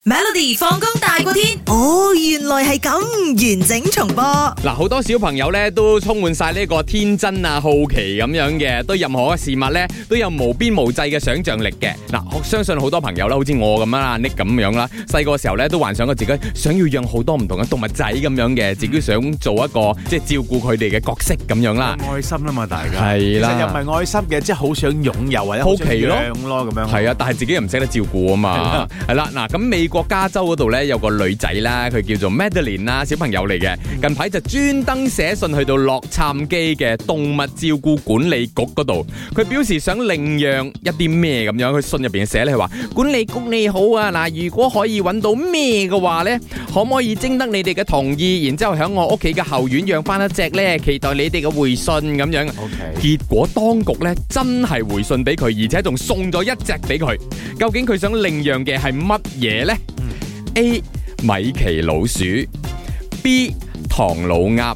Melody 放工大過天，哦，原來係咁，完整重播。 嗱，好多小朋友咧都充滿晒呢個天真啊、好奇咁樣嘅，對任何嘅事物咧都有無邊無際嘅想像力嘅。嗱，我相信好多朋友啦，好似我咁啦，Nick 咁樣啦，細個時候咧都幻想過自己想要養好多唔同嘅動物仔咁樣嘅，自己想做一個即係照顧佢哋嘅角色咁樣啦。 愛心啊嘛，大家係啦， 其實又唔係愛心嘅，即係好想擁有或者好奇咯咁樣。 係啊，但係自己又唔識得照顧啊嘛。係啦，嗱，咁美國加州嗰度咧有個女仔啦，佢叫做 Madeline 啦，小朋友嚟嘅。近排就專登寫信去到洛杉磯嘅動物照顧管理局嗰度，佢表示想領養一啲咩咁樣。佢信入邊寫咧，佢話管理局你好啊，嗱，如果可以揾到咩嘅話咧，可唔可以徵得你哋嘅同意，然之後喺我屋企嘅後院養翻一隻咧？期待你哋嘅回信咁樣。結果當局咧真係回信俾佢，而且仲送咗一隻俾佢。究竟佢想領養嘅係乜嘢咧？A. 米奇老鼠 B. 唐老鴨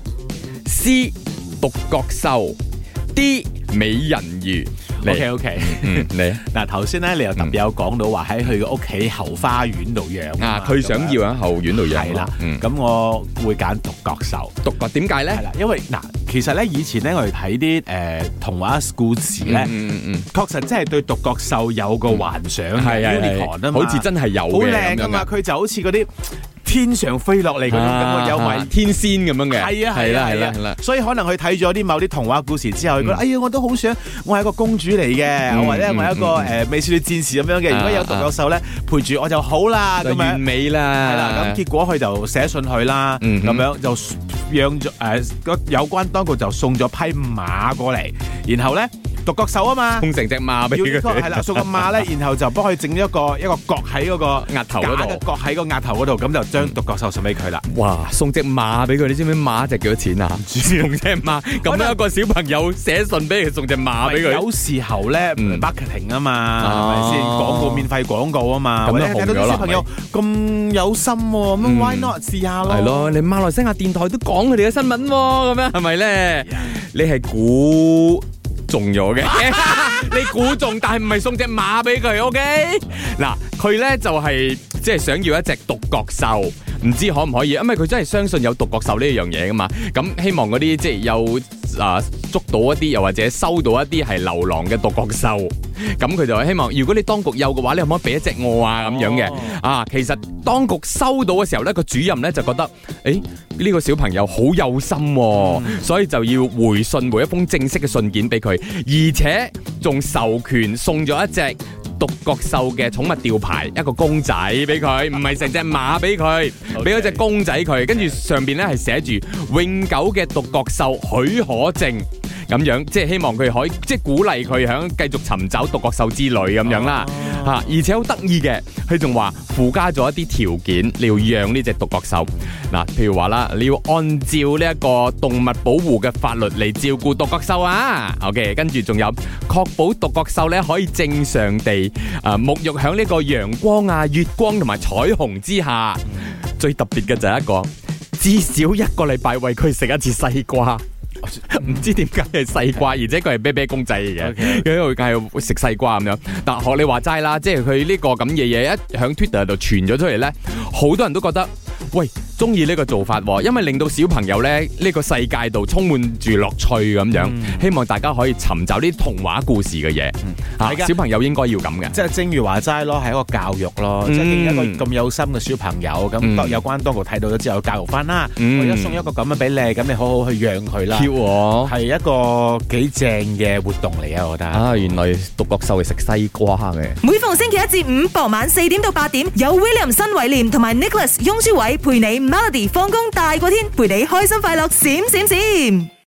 C. 獨角獸 D. 美人魚。 OK， 你嗱頭先咧，你又特別有講到話喺佢嘅屋企後花園度養啊，佢想要喺後院度養。 係啦，咁我會揀獨角獸。 獨角點解咧？ 係啦，因為嗱，其實咧以前咧我哋睇啲童話故事咧，確實真係對獨角獸有個幻想嘅 unicorn 啊嘛， 好似真係有嘅， 好靚噶嘛，佢就好似嗰啲天上飛落嚟嗰種咁嘅有為天仙咁樣嘅。 係啦，所以可能佢睇咗啲某啲童話故事之後，佢覺得哎呀，我都好想我係一個公主嚟嘅，或者我係一個美少女戰士咁樣嘅。如果有獨角獸咧陪住我就好啦，咁樣完美啦。 係啦，咁結果佢就寫信去啦，咁樣就養咗有關當局就送咗匹馬過嚟，然後咧獨角獸啊嘛， 送成隻馬俾佢。 係啦，送個馬咧，然後就幫佢整咗一個角喺嗰個額頭嗰度， 角喺個額頭嗰度，咁就將獨角獸送俾佢啦。 哇！送隻馬俾佢，你知唔知馬值幾多錢啊？送隻馬咁樣一個小朋友寫信俾佢，送隻馬俾佢。 有時候咧 marketing 啊嘛，係咪先？廣告免費廣告啊嘛， 咁就紅咗啦。 小朋友咁有心喎，咁 why not 試下咯？ 係咯，你馬來西亞電台都講佢哋嘅新聞喎，咁樣係咪咧？你係估中咗嘅，你估中，但係唔係送隻馬俾佢 ，OK？ 嗱，佢咧就係即係想要一隻獨角獸，唔知可唔可以？因為佢真係相信有獨角獸呢樣嘢噶嘛。咁希望嗰啲即係有捉到一啲，又或者收到一啲係流浪嘅獨角獸。咁佢就希望，如果你當局有嘅話，你可唔可以俾一隻我啊？咁樣嘅。其實當局收到嘅時候咧，個主任咧就覺得，呢個小朋友好有心喎，所以就要回信每一封正式嘅信件俾佢，而且仲授權送咗一隻獨角獸嘅寵物吊牌，一個公仔俾佢，唔係成隻馬俾佢，俾咗隻公仔佢，跟住上邊咧係寫住永久嘅獨角獸許可證。咁樣即係希望佢可以即係鼓勵佢響繼續尋找獨角獸之旅咁樣啦，而且好得意嘅，佢仲話附加咗一啲條件，你要養呢隻獨角獸。嗱，譬如話啦，你要按照呢一個動物保護嘅法律嚟照顧獨角獸啊。OK， 跟住仲有確保獨角獸咧可以正常地沐浴響呢個陽光啊、月光同埋彩虹之下。最特別嘅就係一個至少一個禮拜餵佢食一次西瓜。唔知點解係西瓜，而且佢係啤啤公仔嚟嘅，因為佢係食西瓜咁樣。但學你話齋啦，即係佢呢個咁嘅嘢一響 Twitter 度傳咗出嚟咧，好多人都覺得喂中意呢個做法，因為令到小朋友咧呢個世界度充滿住樂趣咁樣。希望大家可以尋找啲童話故事嘅嘢，小朋友應該要咁嘅。 即係正如話齋咯，係一個教育咯。即係一個咁有心嘅小朋友，咁有關當局睇到咗之後教育翻啦。我而家送一個咁樣俾你，咁你好好去養佢啦。係一個幾正嘅活動嚟啊！我覺得原來獨角獸係食西瓜嘅。 每逢星期一至五傍晚4點到8點，有 William 新偉廉同埋 Nicholas 雍舒偉陪你 Melody 放工大過天，陪你開心快樂閃閃閃。